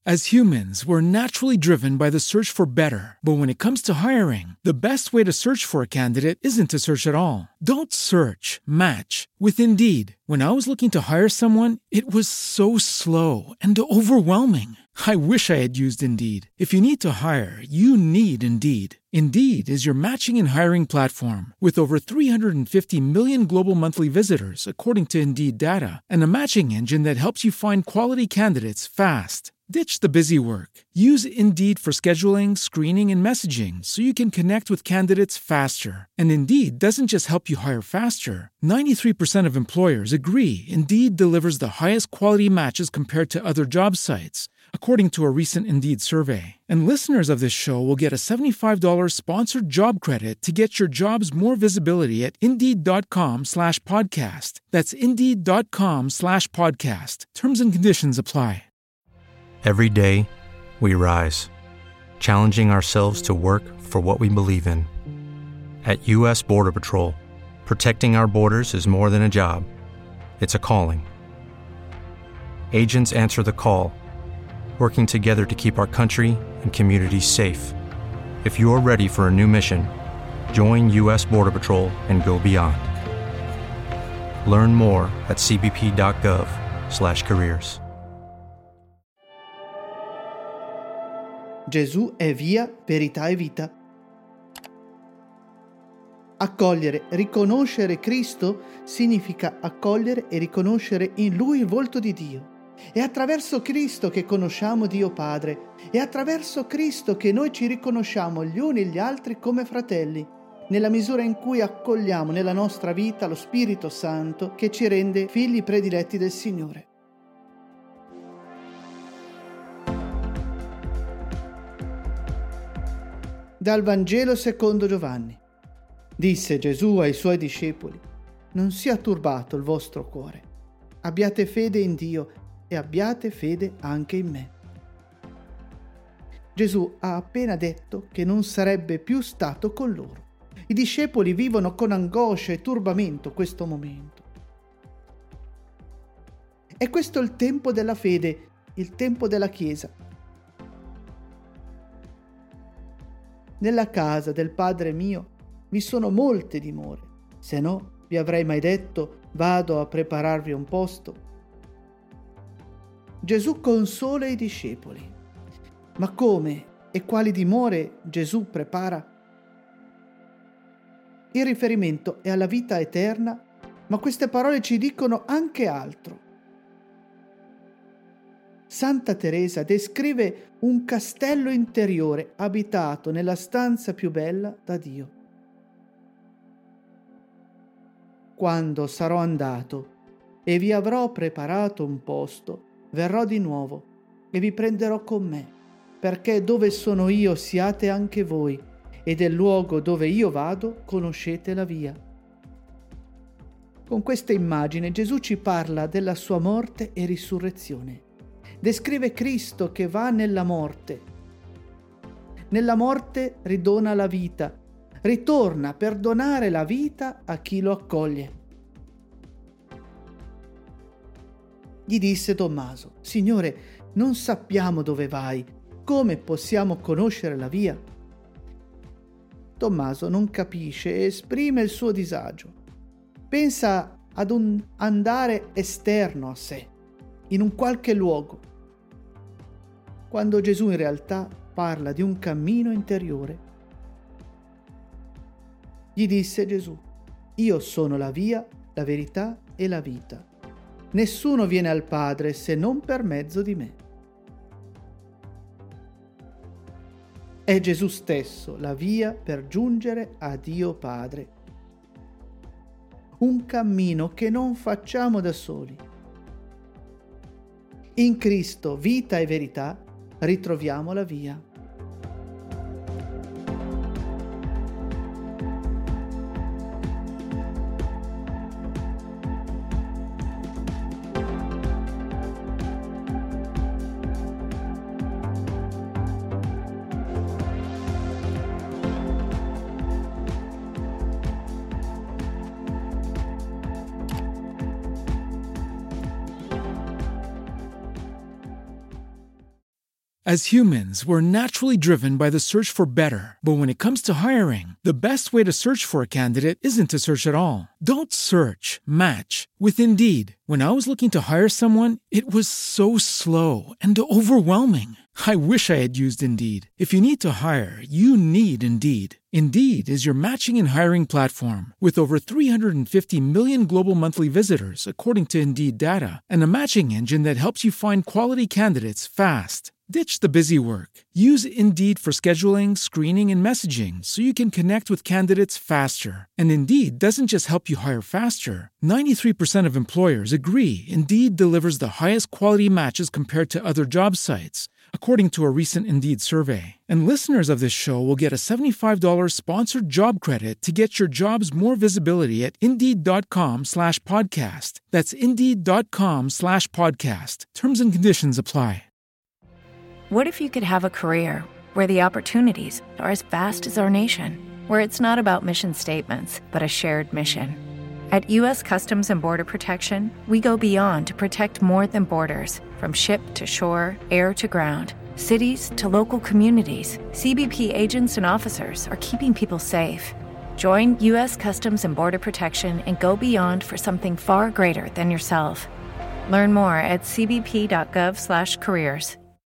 As humans, we're naturally driven by the search for better. But when it comes to hiring, the best way to search for a candidate isn't to search at all. Don't search, match with Indeed. When I was looking to hire someone, it was so slow and overwhelming. I wish I had used Indeed. If you need to hire, you need Indeed. Indeed is your matching and hiring platform with over 350 million global monthly visitors, according to Indeed data, and a matching engine that helps you find quality candidates fast. Ditch the busy work. Use Indeed for scheduling, screening, and messaging so you can connect with candidates faster. And Indeed doesn't just help you hire faster. 93% of employers agree Indeed delivers the highest quality matches compared to other job sites, according to a recent Indeed survey. And listeners of this show will get a $75 sponsored job credit to get your jobs more visibility at Indeed.com/podcast. That's Indeed.com/podcast. Terms and conditions apply. Every day, we rise, challenging ourselves to work for what we believe in. At U.S. Border Patrol, protecting our borders is more than a job. It's a calling. Agents answer the call, working together to keep our country and communities safe. If you're ready for a new mission, join U.S. Border Patrol and go beyond. Learn more at cbp.gov/careers. Gesù è via, verità e vita. Accogliere, riconoscere Cristo significa accogliere e riconoscere in Lui il volto di Dio. È attraverso Cristo che conosciamo Dio Padre. È attraverso Cristo che noi ci riconosciamo gli uni e gli altri come fratelli, nella misura in cui accogliamo nella nostra vita lo Spirito Santo che ci rende figli prediletti del Signore. Dal Vangelo secondo Giovanni. Disse Gesù ai suoi discepoli: non sia turbato il vostro cuore. Abbiate fede in Dio e abbiate fede anche in me. Gesù ha appena detto che non sarebbe più stato con loro. I discepoli vivono con angoscia e turbamento questo momento. È questo il tempo della fede, il tempo della Chiesa. Nella casa del Padre mio vi sono molte dimore, se no vi avrei mai detto: vado a prepararvi un posto. Gesù consola i discepoli. Ma come e quali dimore Gesù prepara? Il riferimento è alla vita eterna, ma queste parole ci dicono anche altro. Santa Teresa descrive un castello interiore abitato nella stanza più bella da Dio. Quando sarò andato e vi avrò preparato un posto, verrò di nuovo e vi prenderò con me, perché dove sono io siate anche voi, e del luogo dove io vado conoscete la via. Con questa immagine Gesù ci parla della sua morte e risurrezione. Descrive Cristo che va nella morte. Nella morte ridona la vita, ritorna per donare la vita a chi lo accoglie. Gli disse Tommaso: Signore, non sappiamo dove vai, come possiamo conoscere la via? Tommaso non capisce e esprime il suo disagio. Pensa ad un andare esterno a sé, in un qualche luogo, quando Gesù in realtà parla di un cammino interiore. Gli disse Gesù: io sono la via, la verità e la vita. Nessuno viene al Padre se non per mezzo di me. È Gesù stesso la via per giungere a Dio Padre. Un cammino che non facciamo da soli. In Cristo, vita e verità, ritroviamo la via. As humans, we're naturally driven by the search for better. But when it comes to hiring, the best way to search for a candidate isn't to search at all. Don't search, match with Indeed. When I was looking to hire someone, it was so slow and overwhelming. I wish I had used Indeed. If you need to hire, you need Indeed. Indeed is your matching and hiring platform with over 350 million global monthly visitors, according to Indeed data, and a matching engine that helps you find quality candidates fast. Ditch the busy work. Use Indeed for scheduling, screening, and messaging so you can connect with candidates faster. And Indeed doesn't just help you hire faster. 93% of employers agree Indeed delivers the highest quality matches compared to other job sites, according to a recent Indeed survey. And listeners of this show will get a $75 sponsored job credit to get your jobs more visibility at Indeed.com/podcast. That's Indeed.com/podcast. Terms and conditions apply. What if you could have a career where the opportunities are as vast as our nation, where it's not about mission statements, but a shared mission? At U.S. Customs and Border Protection, we go beyond to protect more than borders. From ship to shore, air to ground, cities to local communities, CBP agents and officers are keeping people safe. Join U.S. Customs and Border Protection and go beyond for something far greater than yourself. Learn more at cbp.gov/careers.